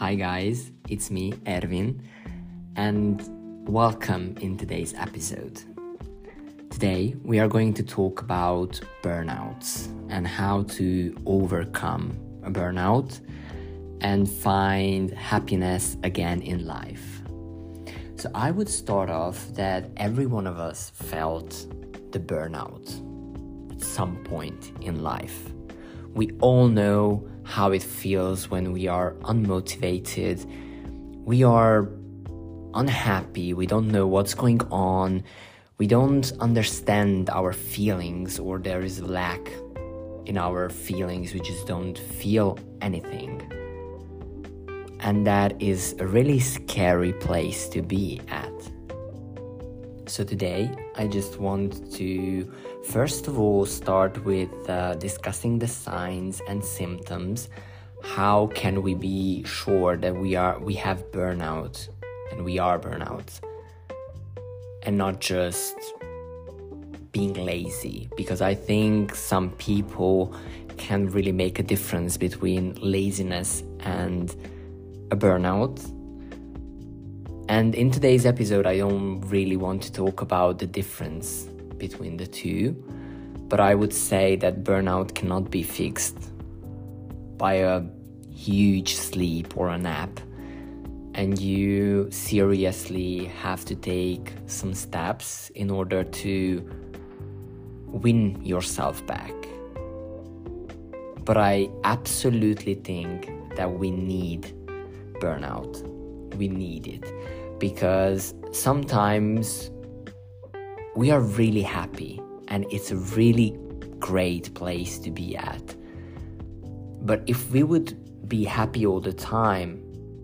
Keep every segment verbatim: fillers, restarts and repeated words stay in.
Hi guys, it's me, Erwin, and welcome in today's episode. Today we are going to talk about burnouts and how to overcome a burnout and find happiness again in life. So I would start off that every one of us felt the burnout at some point in life. We all know how it feels when we are unmotivated, we are unhappy, we don't know what's going on, we don't understand our feelings, or there is a lack in our feelings, we just don't feel anything. And that is a really scary place to be at. So today, I just want to, first of all, start with uh, discussing the signs and symptoms. How can we be sure that we are we have burnout and we are burnout, and not just being lazy? Because I think some people can really make a difference between laziness and a burnout. And in today's episode, I don't really want to talk about the difference between the two, but I would say that burnout cannot be fixed by a huge sleep or a nap, and you seriously have to take some steps in order to win yourself back. But I absolutely think that we need burnout. We need it because sometimes we are really happy and it's a really great place to be at. But if we would be happy all the time,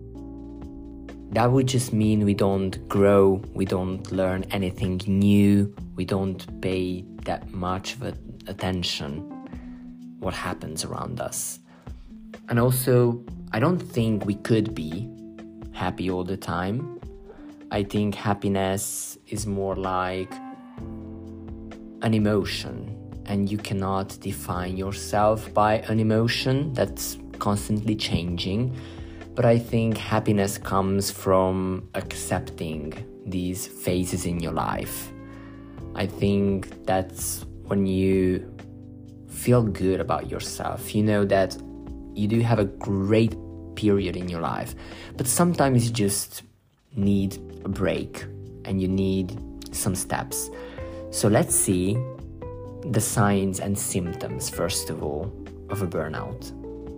that would just mean we don't grow, we don't learn anything new, we don't pay that much of attention what happens around us. And also, I don't think we could be happy all the time. I think happiness is more like an emotion, and you cannot define yourself by an emotion that's constantly changing. But I think happiness comes from accepting these phases in your life. I think that's when you feel good about yourself. You know that you do have a great period in your life, but sometimes you just need a break and you need some steps. So let's see the signs and symptoms, first of all, of a burnout.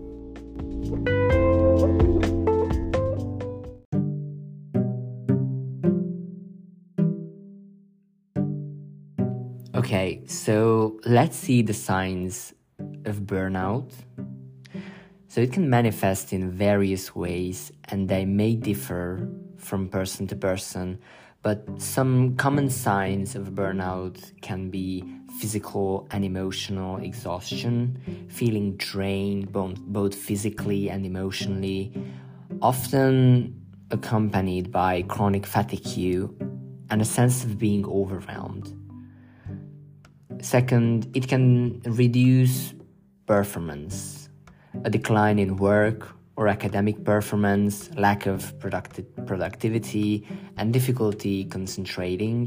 Okay, so let's see the signs of burnout. So it can manifest in various ways, and they may differ from person to person, but some common signs of burnout can be physical and emotional exhaustion, feeling drained both, both physically and emotionally, often accompanied by chronic fatigue and a sense of being overwhelmed. Second, it can reduce performance, a decline in work or academic performance, lack of producti- productivity, and difficulty concentrating,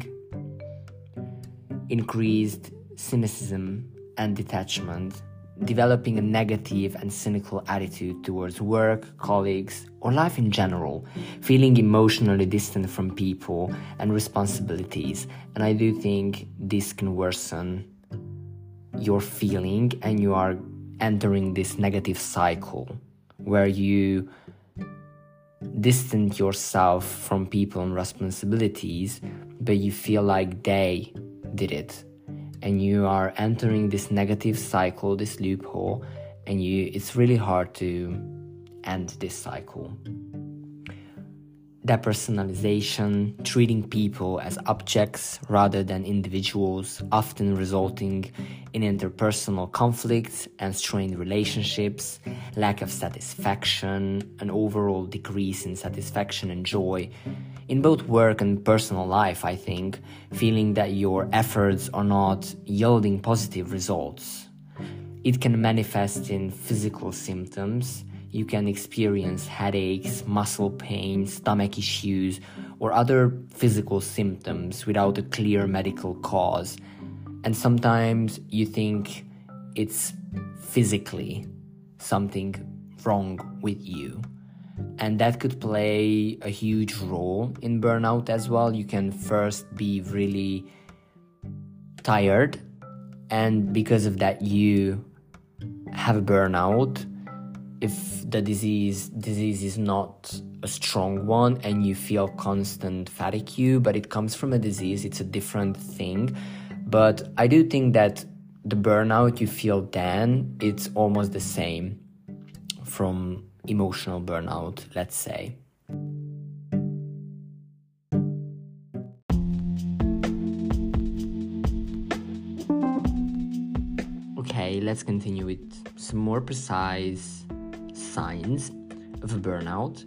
increased cynicism and detachment, developing a negative and cynical attitude towards work, colleagues, or life in general, feeling emotionally distant from people and responsibilities. And I do think this can worsen your feeling, and you are entering this negative cycle where you distance yourself from people and responsibilities, but you feel like they did it, and you are entering this negative cycle, this loophole, and you it's really hard to end this cycle. Depersonalization, treating people as objects rather than individuals, often resulting in interpersonal conflicts and strained relationships, lack of satisfaction, an overall decrease in satisfaction and joy in both work and personal life, I think, feeling that your efforts are not yielding positive results. It can manifest in physical symptoms. you can experience headaches, muscle pain, stomach issues, or other physical symptoms without a clear medical cause. And sometimes you think it's physically something wrong with you. And that could play a huge role in burnout as well. You can first be really tired, and because of that you have a burnout. If the disease disease is not a strong one and you feel constant fatigue, but it comes from a disease, it's a different thing. But I do think that the burnout you feel then, it's almost the same from emotional burnout, let's say. Okay, let's continue with some more precise signs of a burnout,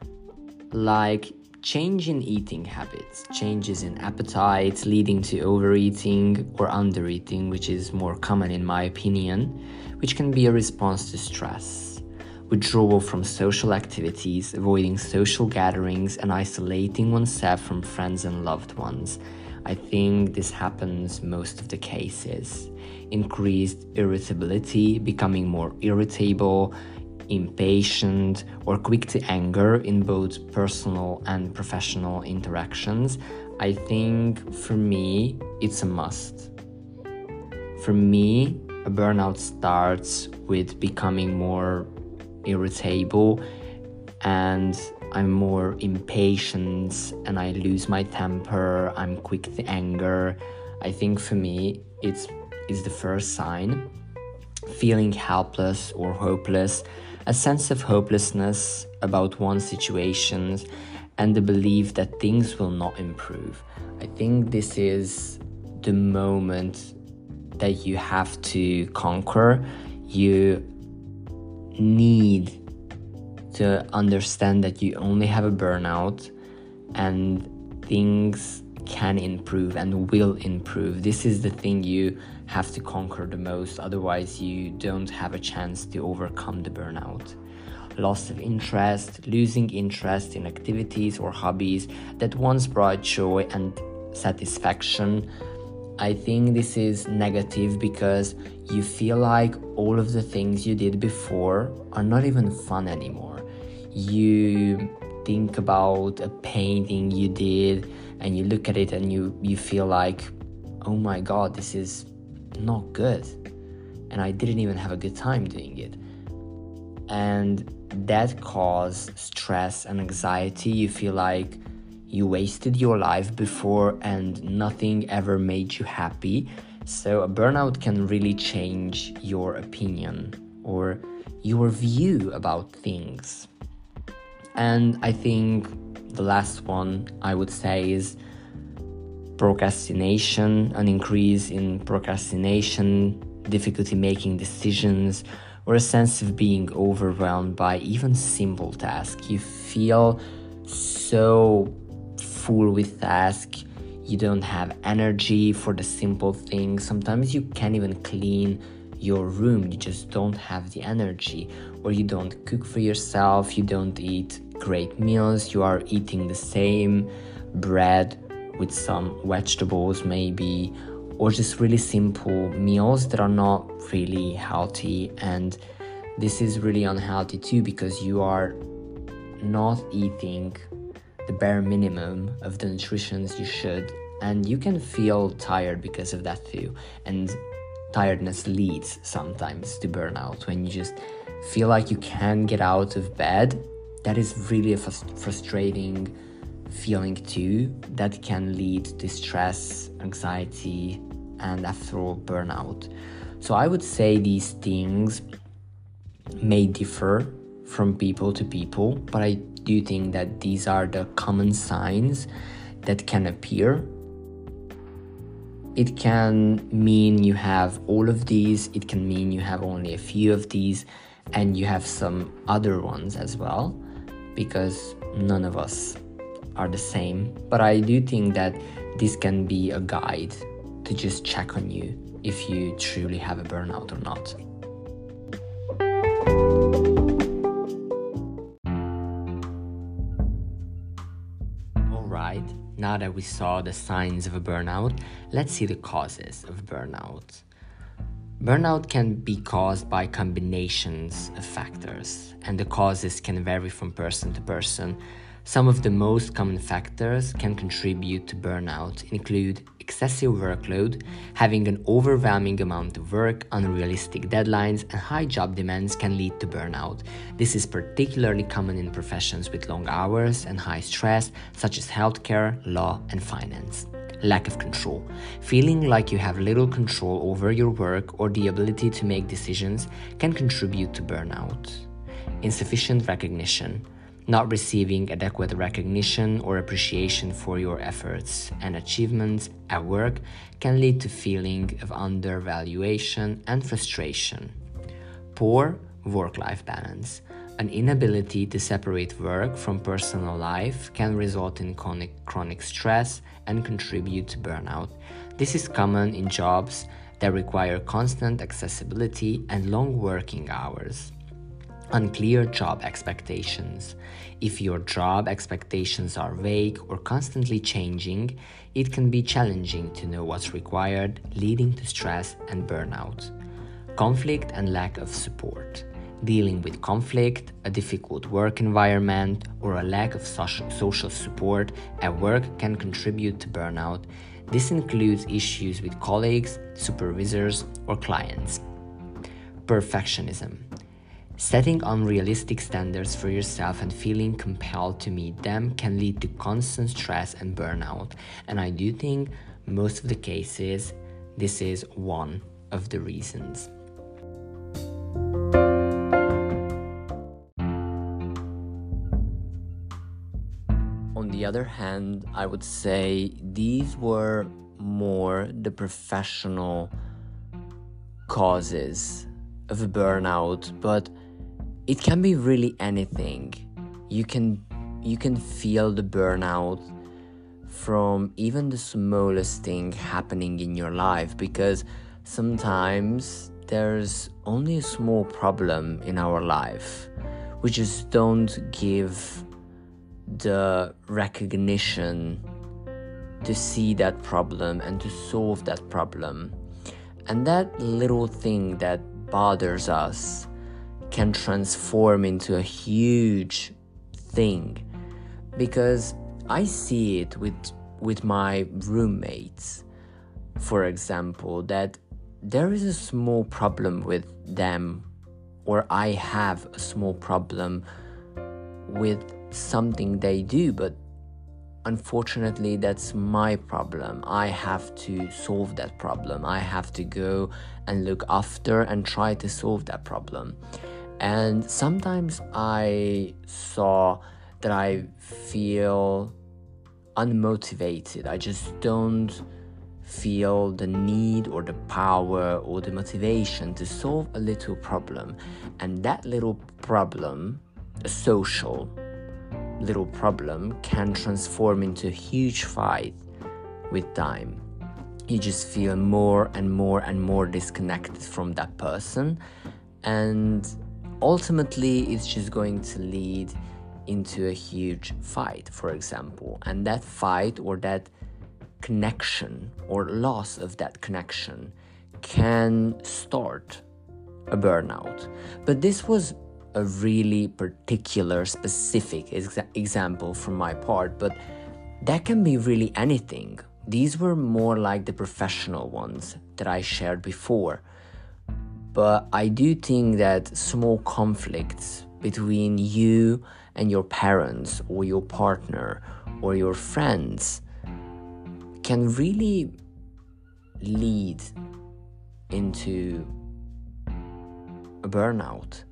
like change in eating habits, changes in appetite leading to overeating or undereating, which is more common in my opinion, which can be a response to stress, withdrawal from social activities, avoiding social gatherings, and isolating oneself from friends and loved ones. I think this happens most of the cases. Increased irritability, becoming more irritable, impatient, or quick to anger in both personal and professional interactions. I think for me, it's a must. For me, a burnout starts with becoming more irritable, and I'm more impatient and I lose my temper, I'm quick to anger. I think for me, it's, it's the first sign. Feeling helpless or hopeless, a sense of hopelessness about one's situations, and the belief that things will not improve. I think this is the moment that you have to conquer. You need to understand that you only have a burnout and things can improve and will improve. This is the thing you have to conquer the most, otherwise you don't have a chance to overcome the burnout. Loss of interest, losing interest in activities or hobbies that once brought joy and satisfaction. I think this is negative because you feel like all of the things you did before are not even fun anymore. You think about a painting you did and you look at it and you, you feel like, oh my god, this is not good. And I didn't even have a good time doing it. And that causes stress and anxiety. You feel like you wasted your life before and nothing ever made you happy. So a burnout can really change your opinion or your view about things. And I think the last one I would say is procrastination, an increase in procrastination, difficulty making decisions, or a sense of being overwhelmed by even simple tasks. You feel so full with tasks, you don't have energy for the simple things. Sometimes you can't even clean your room, you just don't have the energy. Or you don't cook for yourself, you don't eat great meals, you are eating the same bread with some vegetables maybe, or just really simple meals that are not really healthy. And this is really unhealthy too, because you are not eating the bare minimum of the nutrition you should, and you can feel tired because of that too. And tiredness leads sometimes to burnout. When you just feel like you can't get out of bed, that is really a frust- frustrating feeling too, that can lead to stress, anxiety, and after all, burnout. So I would say these things may differ from people to people, but I do think that these are the common signs that can appear. It can mean you have all of these, it can mean you have only a few of these, and you have some other ones as well, because none of us are the same. But I do think that this can be a guide to just check on you if you truly have a burnout or not. now that we saw the signs of a burnout, let's see the causes of burnout. Burnout can be caused by combinations of factors, and the causes can vary from person to person. Some of the most common factors can contribute to burnout include excessive workload, having an overwhelming amount of work, unrealistic deadlines, and high job demands can lead to burnout. This is particularly common in professions with long hours and high stress, such as healthcare, law, and finance. Lack of control. Feeling like you have little control over your work or the ability to make decisions can contribute to burnout. Insufficient recognition. Not receiving adequate recognition or appreciation for your efforts and achievements at work can lead to feeling of undervaluation and frustration. Poor work-life balance. An inability to separate work from personal life can result in chronic, chronic stress and contribute to burnout. This is common in jobs that require constant accessibility and long working hours. Unclear job expectations. If your job expectations are vague or constantly changing, it can be challenging to know what's required, leading to stress and burnout. Conflict and lack of support. Dealing with conflict, a difficult work environment, or a lack of social support at work can contribute to burnout. This includes issues with colleagues, supervisors, or clients. Perfectionism. Setting unrealistic standards for yourself and feeling compelled to meet them can lead to constant stress and burnout. And I do think most of the cases, this is one of the reasons. On the other hand, I would say these were more the professional causes of a burnout, but it can be really anything. You can you can feel the burnout from even the smallest thing happening in your life, because sometimes there's only a small problem in our life. We just don't give the recognition to see that problem and to solve that problem. And that little thing that bothers us can transform into a huge thing, because I see it with with my roommates, for example, that there is a small problem with them, or I have a small problem with something they do, but unfortunately that's my problem. I have to solve that problem. I have to go and look after and try to solve that problem. And sometimes I saw that I feel unmotivated. I just don't feel the need or the power or the motivation to solve a little problem. And that little problem, a social little problem, can transform into a huge fight with time. You just feel more and more and more disconnected from that person, and ultimately it's just going to lead into a huge fight, for example. And that fight or that connection or loss of that connection can start a burnout. But this was a really particular, specific exa- example from my part, but that can be really anything. These were more like the professional ones that I shared before. But I do think that small conflicts between you and your parents or your partner or your friends can really lead into a burnout.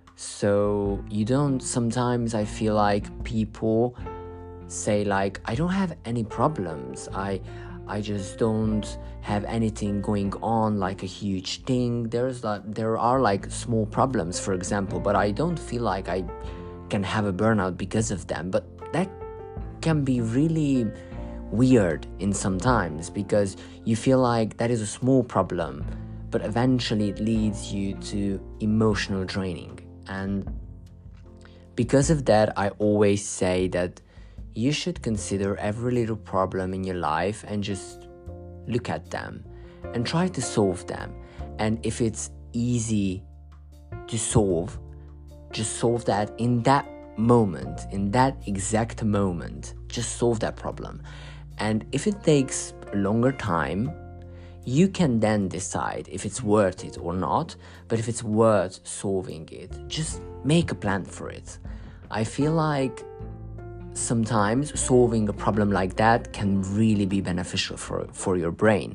So you don't, sometimes I feel like people say like, I don't have any problems. I I just don't have anything going on, like a huge thing. There's like, there are like small problems, for example, but I don't feel like I can have a burnout because of them. But that can be really weird in sometimes, because you feel like that is a small problem, but eventually it leads you to emotional draining. And because of that, I always say that you should consider every little problem in your life and just look at them and try to solve them. And if it's easy to solve, just solve that in that moment, in that exact moment. Just solve that problem. And if it takes a longer time, you can then decide if it's worth it or not. But if it's worth solving it, just make a plan for it. I feel like sometimes solving a problem like that can really be beneficial for, for your brain.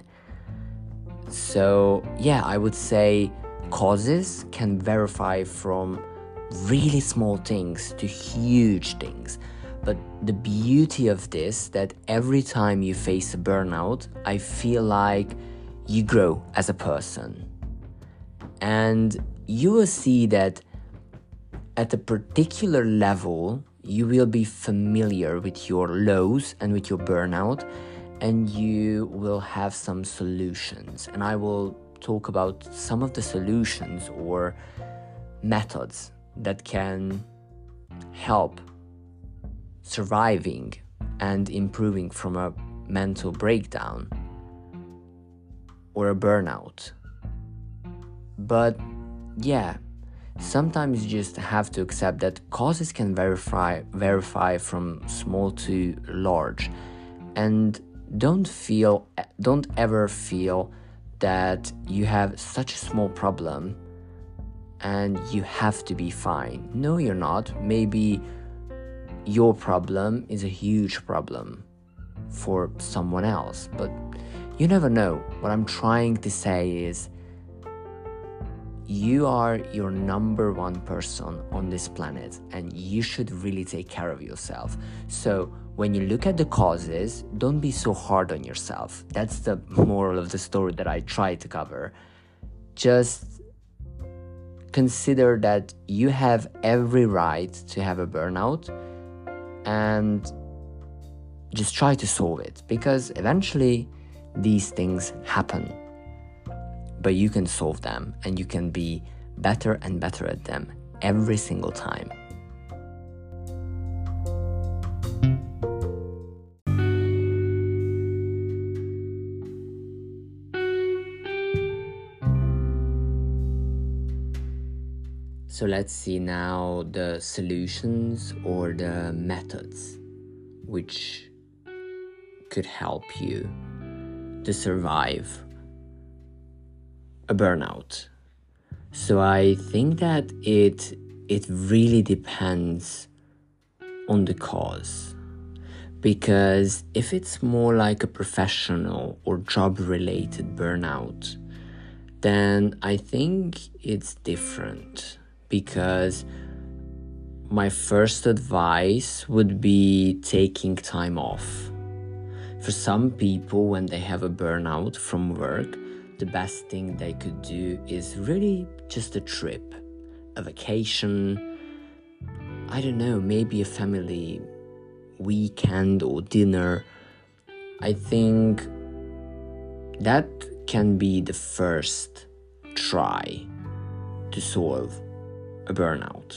So yeah, I would say causes can verify from really small things to huge things. But the beauty of this, that every time you face a burnout, I feel like you grow as a person. And you will see that at a particular level, you will be familiar with your lows and with your burnout, and you will have some solutions. And I will talk about some of the solutions or methods that can help surviving and improving from a mental breakdown or a burnout. But yeah, sometimes you just have to accept that causes can verify verify from small to large. And don't feel don't ever feel that you have such a small problem and you have to be fine. No, you're not. Maybe your problem is a huge problem for someone else, but you never know. What I'm trying to say is, you are your number one person on this planet, and you should really take care of yourself. So when you look at the causes, don't be so hard on yourself. That's the moral of the story that I try to cover. Just consider that you have every right to have a burnout, and just try to solve it, because eventually these things happen. But you can solve them, and you can be better and better at them every single time. So let's see now the solutions or the methods which could help you to survive a burnout. So I think that it it really depends on the cause, because if it's more like a professional or job related burnout, then I think it's different. Because my first advice would be taking time off. For some people, when they have a burnout from work, the best thing they could do is really just a trip, a vacation, I don't know, maybe a family weekend or dinner. I think that can be the first try to solve a burnout.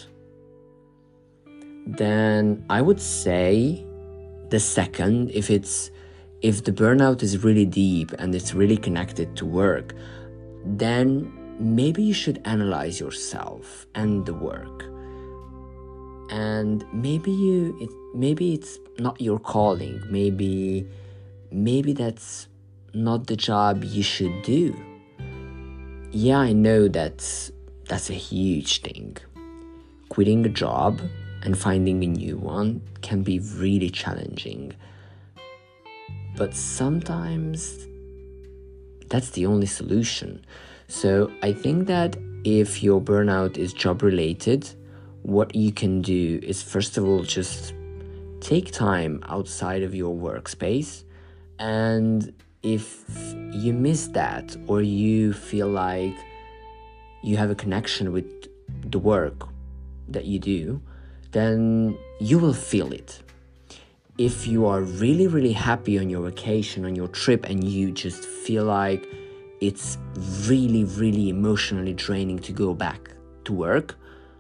Then I would say the second, if it's if the burnout is really deep and it's really connected to work, then maybe you should analyze yourself and the work. And maybe you it maybe it's not your calling. Maybe maybe that's not the job you should do. Yeah, I know that's that's a huge thing. Quitting a job and finding a new one can be really challenging. But sometimes that's the only solution. So I think that if your burnout is job related, what you can do is, first of all, just take time outside of your workspace. And if you miss that, or you feel like you have a connection with the work that you do, then you will feel it. If you are really, really happy on your vacation, on your trip, and you just feel like it's really, really emotionally draining to go back to work,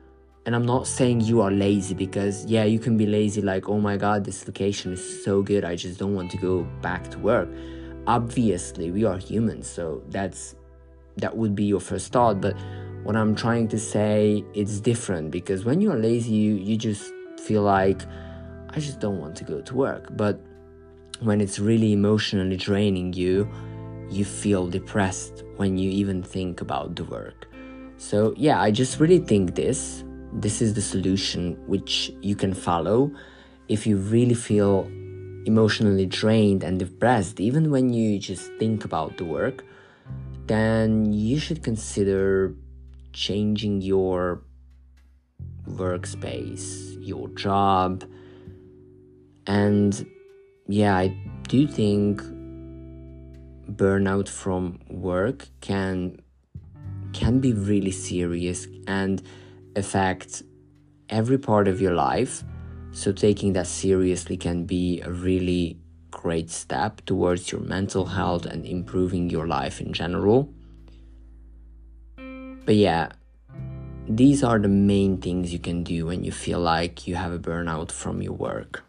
And I'm not saying you are lazy, because yeah, you can be lazy, like, oh my god, this location is so good, I just don't want to go back to work. Obviously, we are humans, so that's that would be your first thought. But what I'm trying to say, it's different, because when you're lazy, you, you just feel like, I just don't want to go to work. But when it's really emotionally draining you, you feel depressed when you even think about the work. So yeah, I just really think this this is the solution which you can follow if you really feel emotionally drained and depressed, even when you just think about the work. Then you should consider changing your workspace, your job. And yeah, I do think burnout from work can can be really serious and affect every part of your life. So taking that seriously can be a really great step towards your mental health and improving your life in general. But yeah, these are the main things you can do when you feel like you have a burnout from your work.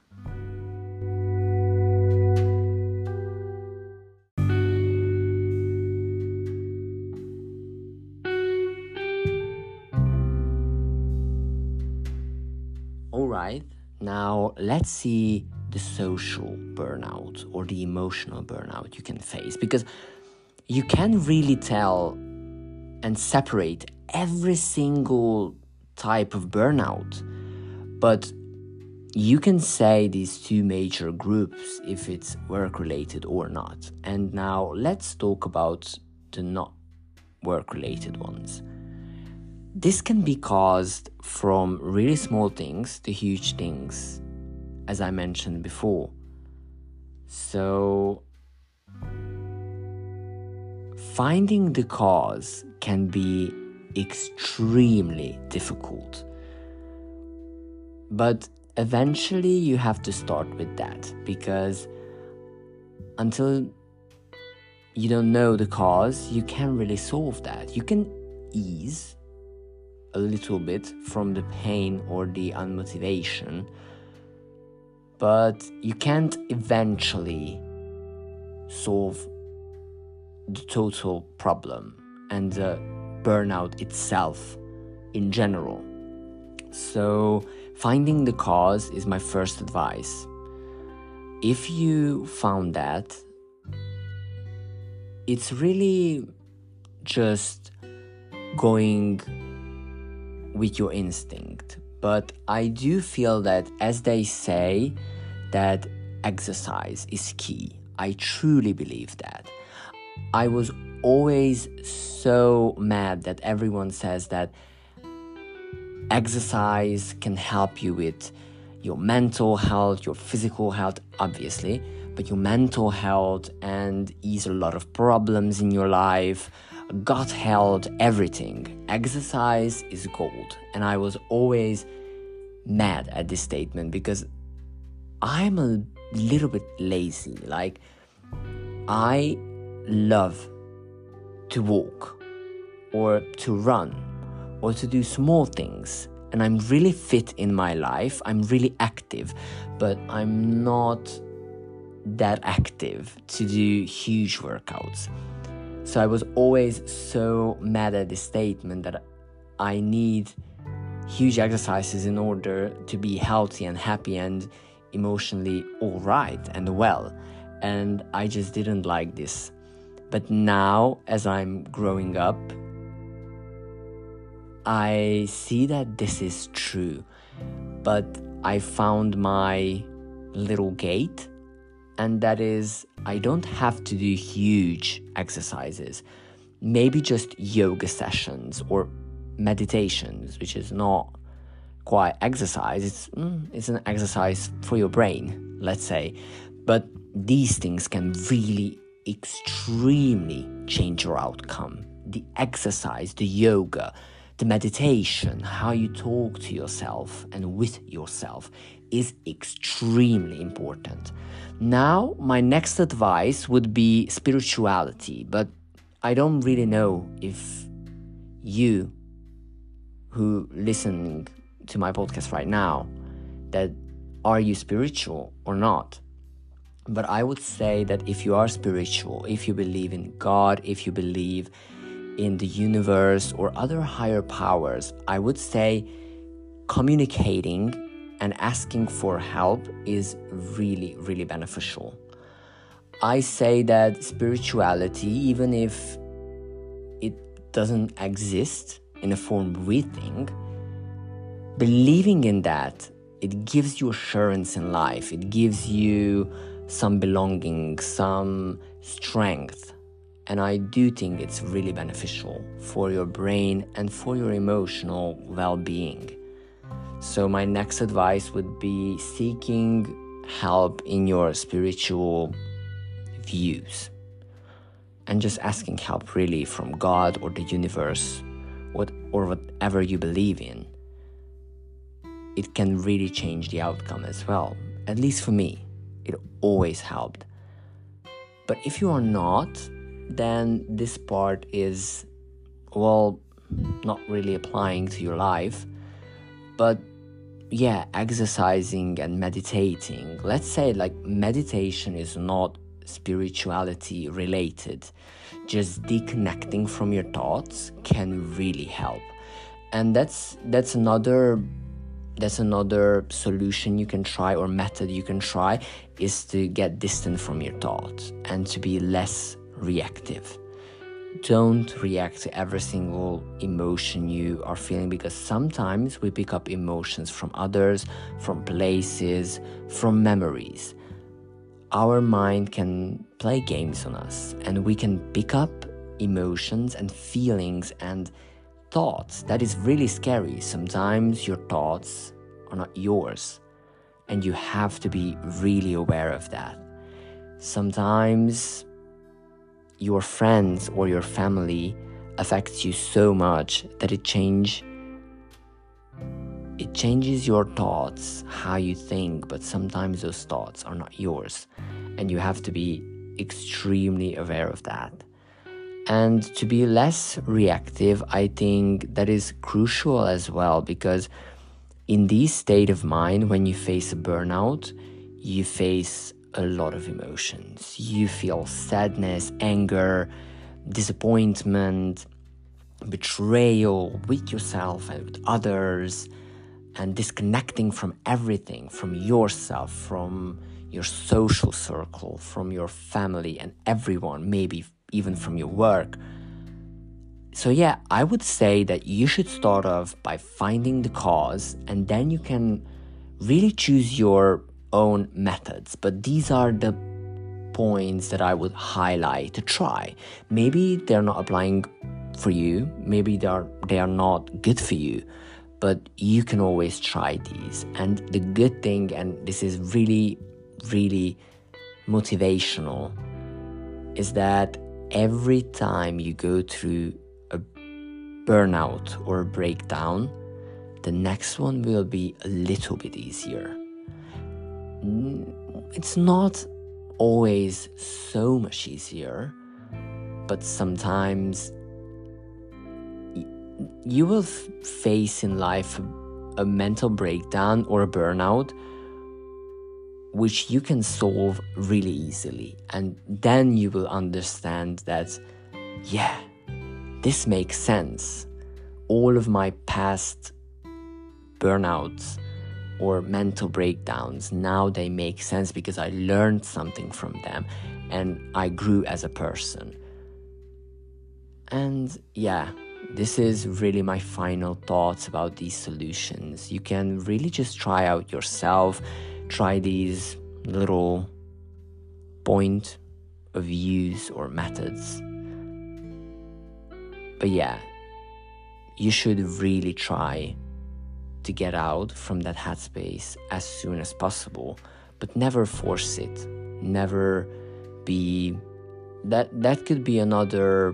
Alright, now let's see the social burnout or the emotional burnout you can face, because you can really tell and separate every single type of burnout, but you can say these two major groups if it's work related or not. And now let's talk about the not work related ones. This can be caused from really small things to huge things, as I mentioned before. So finding the cause can be extremely difficult. But eventually you have to start with that, because until you don't know the cause, you can't really solve that. You can ease a little bit from the pain or the unmotivation, but you can't eventually solve the total problem and the burnout itself in general. So finding the cause is my first advice. If you found that, it's really just going with your instinct. But I do feel that, as they say, that exercise is key. I truly believe that. I was always so mad that everyone says that exercise can help you with your mental health, your physical health, obviously, but your mental health, and ease a lot of problems in your life, gut health, everything. Exercise is gold. And I was always mad at this statement, because I'm a little bit lazy. Like, I love to walk or to run or to do small things, and I'm really fit in my life. I'm really active, but I'm not that active to do huge workouts. So I was always so mad at this statement that I need huge exercises in order to be healthy and happy and emotionally all right and well. And I just didn't like this. But now, as I'm growing up, I see that this is true. But I found my little gate, and that is, I don't have to do huge exercises. Maybe just yoga sessions or meditations, which is not quite exercise. It's, mm, it's an exercise for your brain, let's say. But these things can really extremely change your outcome. The exercise, the yoga, the meditation, how you talk to yourself and with yourself is extremely important. Now, my next advice would be spirituality, but I don't really know if you who listening to my podcast right now, that are you spiritual or not? But I would say that if you are spiritual, if you believe in God, if you believe in the universe or other higher powers, I would say communicating and asking for help is really, really beneficial. I say that spirituality, even if it doesn't exist in a form we think, believing in that, it gives you assurance in life. It gives you some belonging, some strength. And I do think it's really beneficial for your brain and for your emotional well-being. So my next advice would be seeking help in your spiritual views. And just asking help really from God or the universe, what or whatever you believe in. It can really change the outcome as well. At least for me, it always helped. But if you are not, then this part is, well, not really applying to your life. But yeah, exercising and meditating. Let's say like meditation is not spirituality related. Just deconnecting from your thoughts can really help. And that's that's another That's another solution you can try, or method you can try, is to get distant from your thoughts and to be less reactive. Don't react to every single emotion you are feeling, because sometimes we pick up emotions from others, from places, from memories. Our mind can play games on us, and we can pick up emotions and feelings and thoughts. That is really scary. Sometimes your thoughts are not yours, and you have to be really aware of that. Sometimes your friends or your family affects you so much that it change it changes your thoughts, how you think, but sometimes those thoughts are not yours, and you have to be extremely aware of that. And to be less reactive, I think that is crucial as well, because in this state of mind, when you face a burnout, you face a lot of emotions. You feel sadness, anger, disappointment, betrayal with yourself and with others, and disconnecting from everything, from yourself, from your social circle, from your family and everyone, maybe even from your work. So yeah, I would say that you should start off by finding the cause, and then you can really choose your own methods. But these are the points that I would highlight to try. Maybe they're not applying for you, maybe they are they are not good for you, but you can always try these. And the good thing, and this is really, really motivational, is that every time you go through a burnout or a breakdown, the next one will be a little bit easier. It's not always so much easier, but sometimes you will f- face in life a, a mental breakdown or a burnout which you can solve really easily. And then you will understand that, yeah, this makes sense. All of my past burnouts or mental breakdowns, now they make sense because I learned something from them and I grew as a person. And yeah, this is really my final thoughts about these solutions. You can really just try out yourself, try these little point of views or methods. But yeah, you should really try to get out from that headspace as soon as possible, but never force it. Never be that that could be another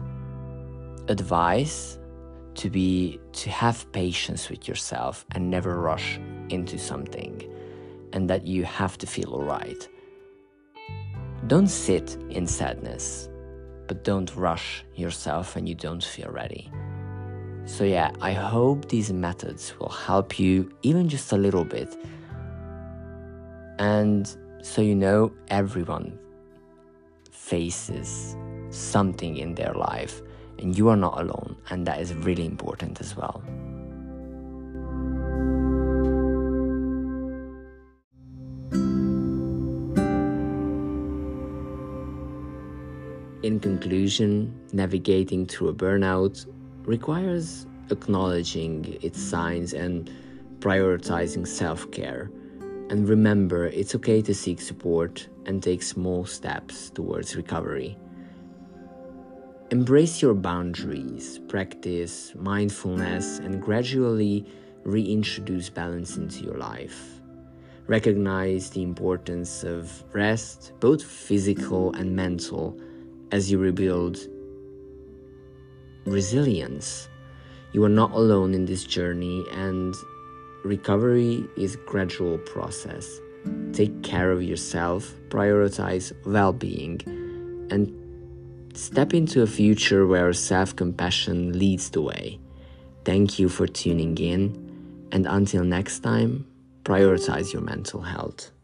advice, to be to have patience with yourself and never rush into something, and that you have to feel alright. Don't sit in sadness, but don't rush yourself when you don't feel ready. So yeah, I hope these methods will help you even just a little bit. And so you know, everyone faces something in their life, and you are not alone, and that is really important as well. In conclusion, navigating through a burnout requires acknowledging its signs and prioritizing self-care. And remember, it's okay to seek support and take small steps towards recovery. Embrace your boundaries, practice mindfulness, and gradually reintroduce balance into your life. Recognize the importance of rest, both physical and mental, as you rebuild resilience. You are not alone in this journey, and recovery is a gradual process. Take care of yourself, prioritize well-being, and step into a future where self-compassion leads the way. Thank you for tuning in, and until next time, prioritize your mental health.